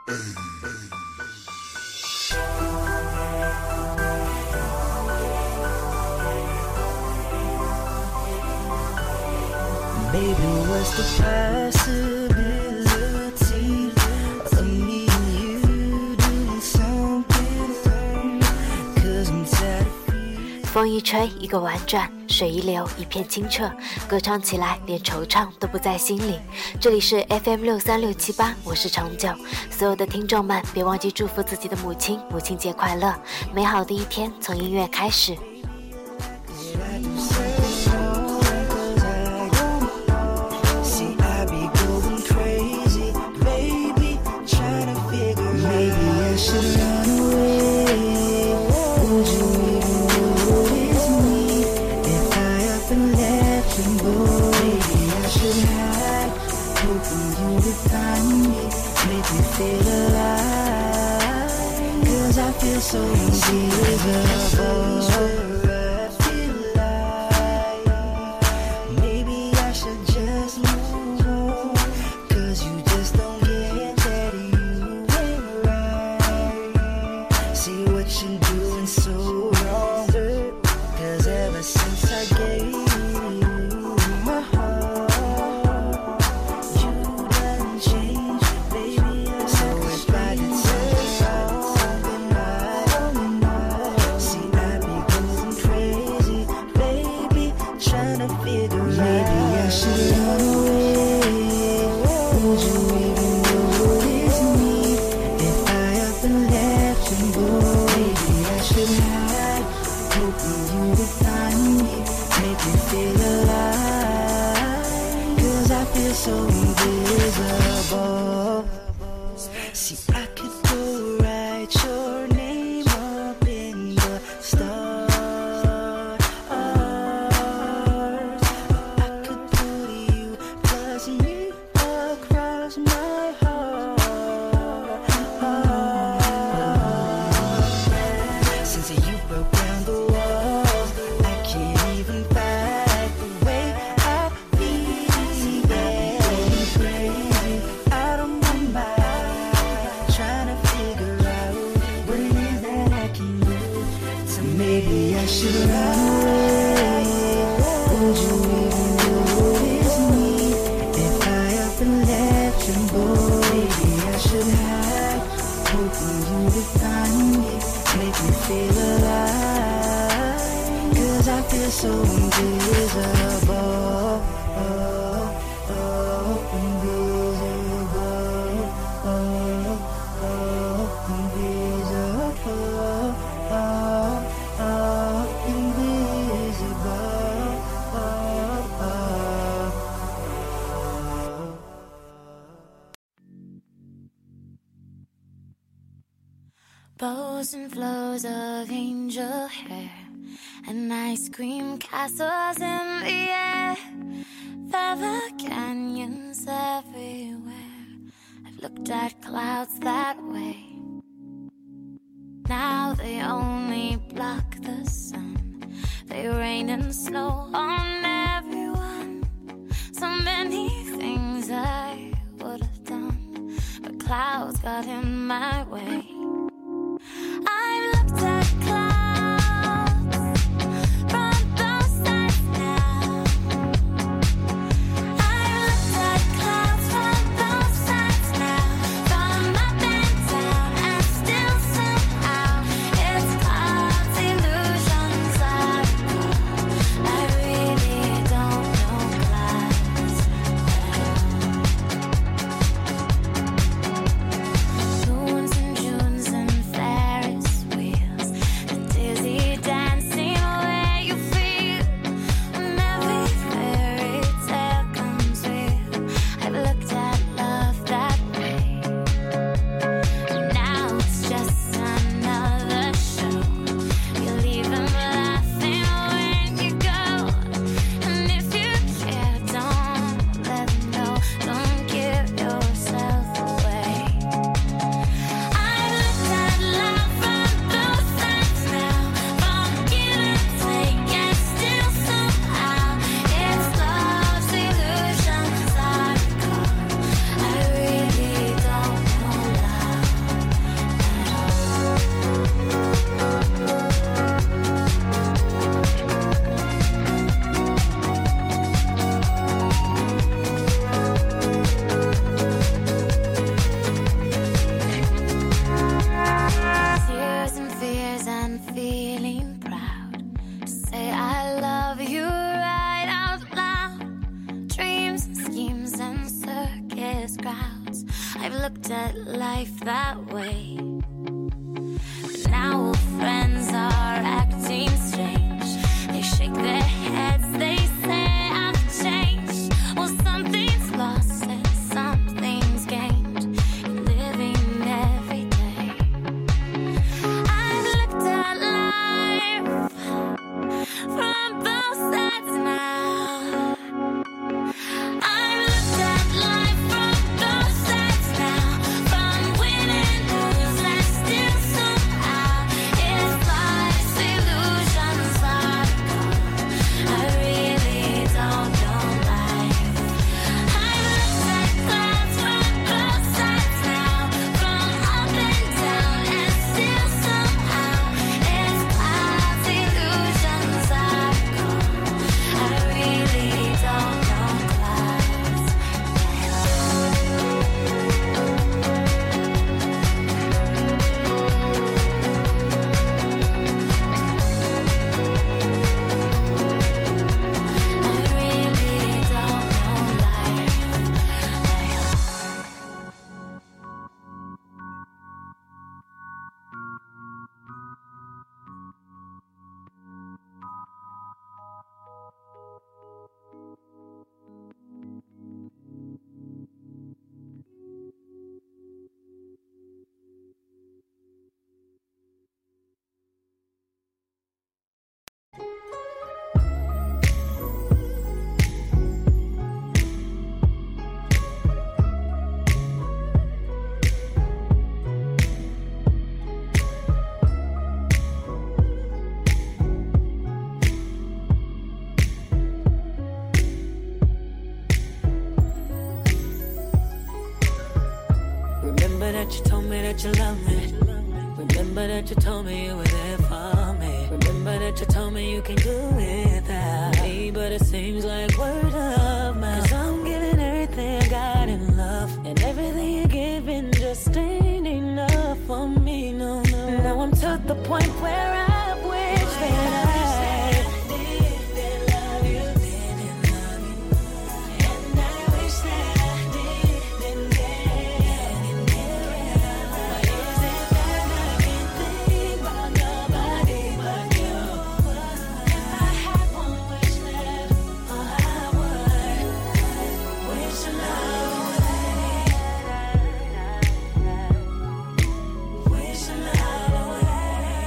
Baby, what's the possibility of me and you doing something wrong? 'Cause I'm tired of feeling. 风一吹，一个婉转；水一流，一片清澈。歌唱起来，连惆怅都不在心里。这里是 FM63678，我是长久。所有的听众们，别忘记祝福自己的母亲，母亲节快乐！美好的一天从音乐开始。 So invisible. Maybe I should just move on, 'cause you just don't get that you ain't right. See what you're doing so wrong, 'cause ever since I gave you my heart, you done changed, baby. So if I could say something right, see I be going crazy, baby, trying to figure out. Maybe I should run away. Would you even notice me if I up and left and go? Maybe I should hide, hoping you would find me, make me feel alive, 'cause I feel so invisible. See, I could go write your name up in the stars. I could put you plus you across my heart. Since you broke down the walls, I can't even fight the way I feel. Going crazy, out of my mind, trying to figure out what it is that I can do. So maybe I should run away. Would you even notice me if I up and left and go? Maybe I should hide, hoping you would find me, make me feel alive, 'cause I feel so invisible. Invisible. Bows and flows of angel hair and ice cream castles in the air, feather canyons everywhere. I've looked at clouds that way. Now they only block the sun. They rain and snow on everyone. So many things I would have done, but clouds got in my way. I've looked at clouds from both sides now. I've looked at clouds from both sides now, from up and down, and still somehow it's clouds, illusions I really don't know clouds well. Moons in June life that way. But now all friends are acting strange. They shake their heads, they say I've changed. Well, something's lost and something's gained in living every day. I've looked at life from both sides now. I've looked at life from both sides now. From win and lose, I still somehow. If life's illusions are gone, I really don't know life. I've looked at clouds from both sides now. From up and down, and still somehow. If clouds illusions are gone, I really don't know clouds. I really don't know life. Remember that you told me that you love me. Remember that you told me you were there for me. Remember that you told me you can do without me. But it seems like word of mouth, 'cause I'm giving everything I got in love, and everything you're giving just ain't enough for me, no, no. Now I'm to the point where I wish that I didn't love you, didn't love you. And I wish that I didn't care. Why is it that I can't think about nobody but you? If I had one wish left, I would wish your love away. Wish your love away.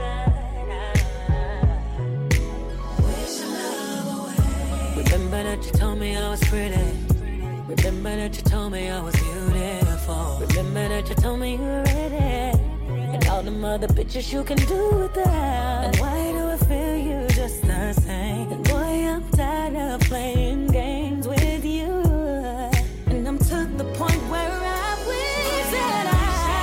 Wish your love away. Remember that you told me I was pretty. Remember that you told me I was beautiful. Remember that you told me you were ready, and all them other bitches you can do without. And why do I feel you just the same? And boy, I'm tired of playing games with you. And I'm to the point where I wish that I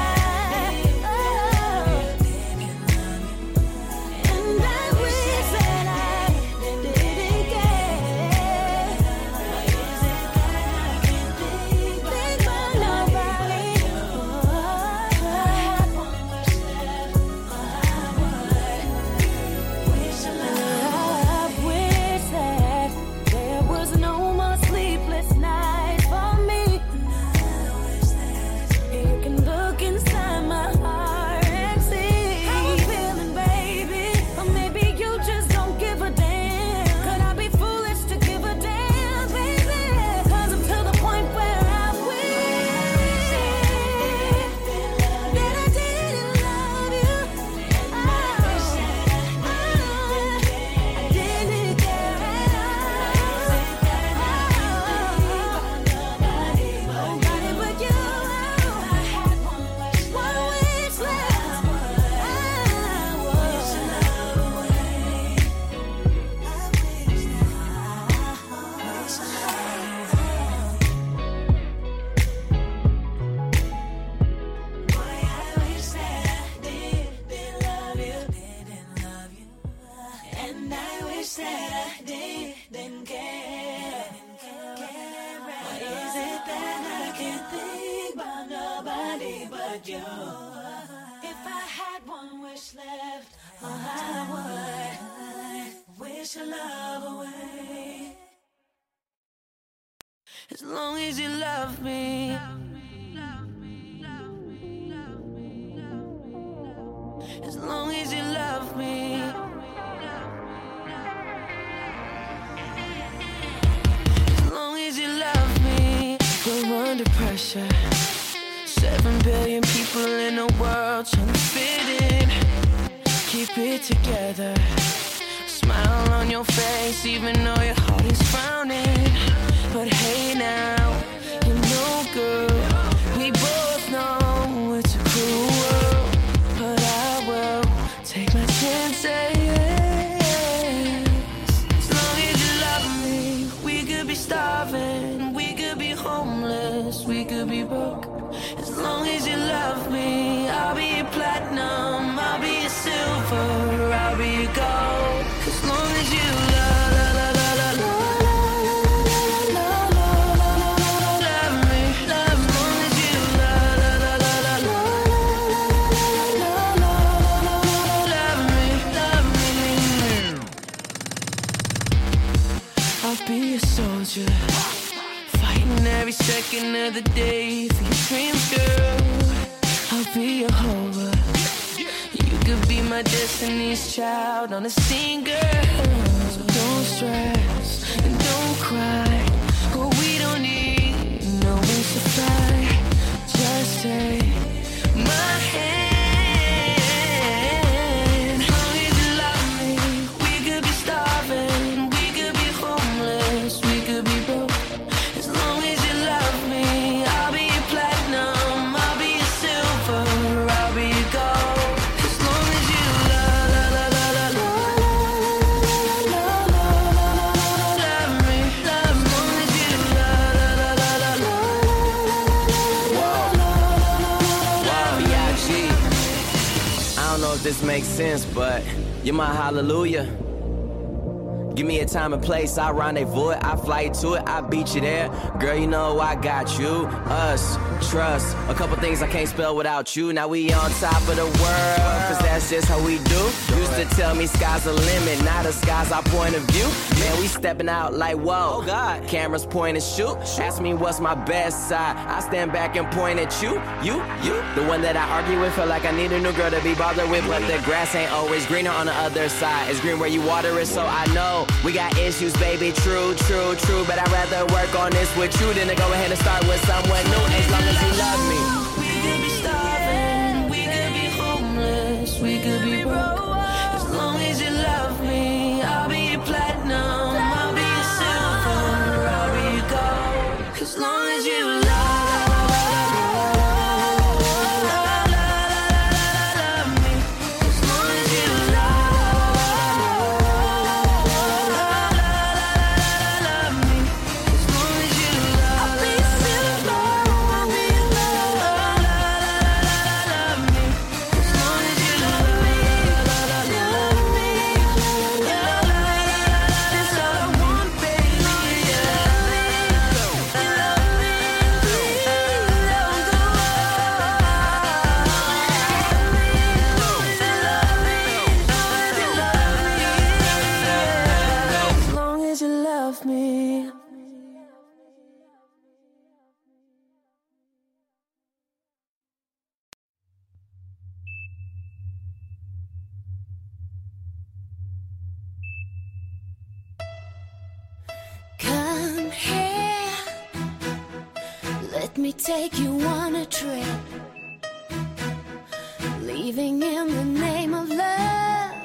and I wish that I didn't care. Why is it that I can't think about nobody? If I had one wish left, I would wish your love. I wish that there was no more sleepless nights for me. You can look inside my heart and see how I'm feeling, baby. Or maybe you just don't give a damn. Could I be foolish to give a damn, baby? 'Cause I'm to the point where I wish that I didn't love you. I wish that I didn't care at all. Nobody but you. If I had one wish left, I would wish your love away. I wish Boy, I wish that I didn't love you, didn't love you. And I wish that I didn't care. Why is it that I can't think about nobody but you? If I had one wish left, I would wish your love away. As long as you love me, pressure. 7 billion people in the world trying to fit in. Keep it together. Smile on your face even though your heart is frowning. But hey now, you know girl, we both know it's a cruel world. But I will take my chances. As long as you love me, we could be starving, we could be homeless, we could be broke. As long as you love me, I'll be your platinum, I'll be your silver, I'll be your gold. As long as you love me, as long as you love me. I'll be a soldier, fighting every second of the day for your dreams, girl. I'll be your hover. You could be my destiny's child on a scene, girl. So don't stress and don't cry. Oh, we don't need no wings to fly. Just take my hand. As long as you love me, we could be starving, we could be homeless, we could be broke. As long as you love me, I'll be your platinum, I'll be your silver, I'll be your gold. As long as you love me, as long as you B.I.G. I don't know if this makes sense, but you're my hallelujah. Give me a time and place, I rendezvous it, I fly you to it, I beat you there. Girl, you know I got you, us, trust. A couple things I can't spell without you. Now we on top of the world, cause that's just how we do. Used to tell me sky's the limit, now the sky's our point of view. Man, we stepping out like whoa, oh God. Cameras point and shoot. Ask me what's my best side, I stand back and point at you. The one that I argue with, feel like I need a new girl to be bothered with. But the grass ain't always greener on the other side. It's green where you water it, so I know we got issues, baby, true. But I'd rather work on this with you than to go ahead and start with someone new. As long as you love me. We could be starving, we could be homeless, we could be broke. As long as you love me, I'll be your platinum, I'll be your silver, I'll be your gold. As long as you love me. Come here, let me take you on a trip, leaving in the name of love,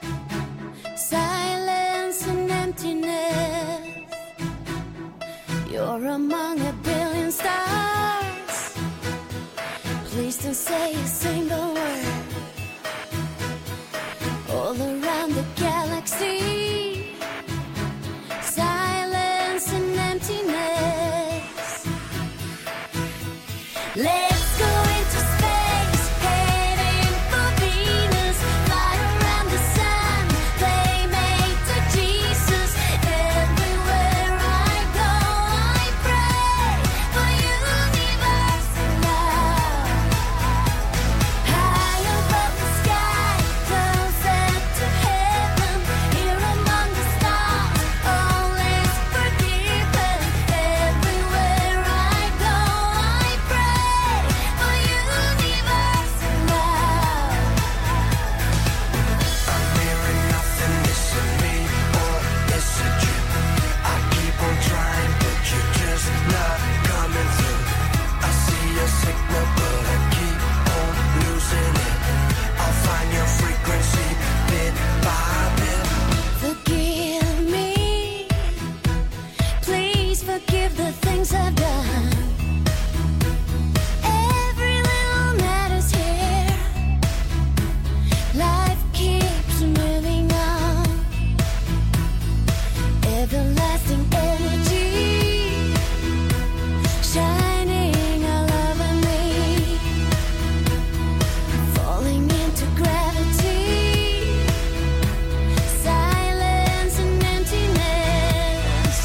silence and emptiness. You're among a billion stars, please don't say a single word. All around the galaxy, silence and emptiness. Let's go into space, heading for Venus, fly around the sun, playmate to Jesus. Everywhere I go, I pray for universal love. High above the sky, closer to heaven, here among forgive the things I've done. Every little matter's here. Life keeps moving on. Everlasting energy, shining all over me, falling into gravity, silence and emptiness.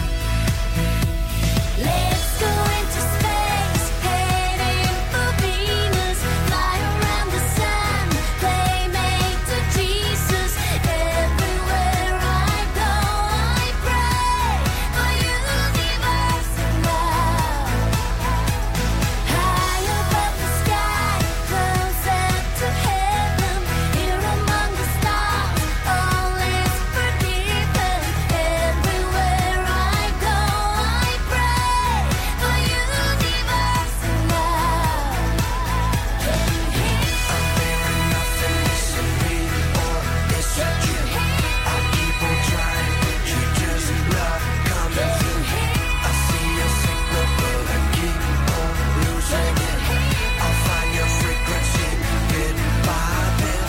Let's go into space, heading for Venus, fly around the sun, playmate to Jesus. Everywhere I go, I pray for universal love. High above the sky, closer to heaven, here among the stars, all is forgiven. Everywhere I go, I pray for universal love. Can you hear? I'm feeling nothing missing me, or is it you? I keep on trying, but you're just not coming through. I see your signal, but I keep on losing it. I'll find your frequency bit by bit.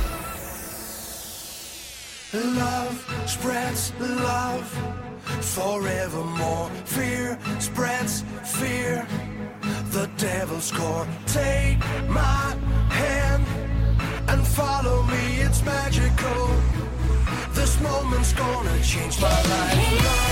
Love spreads love forevermore. Fear spreads fear. The devil's core. Take my hand and follow me. It's magical. This moment's gonna change my life.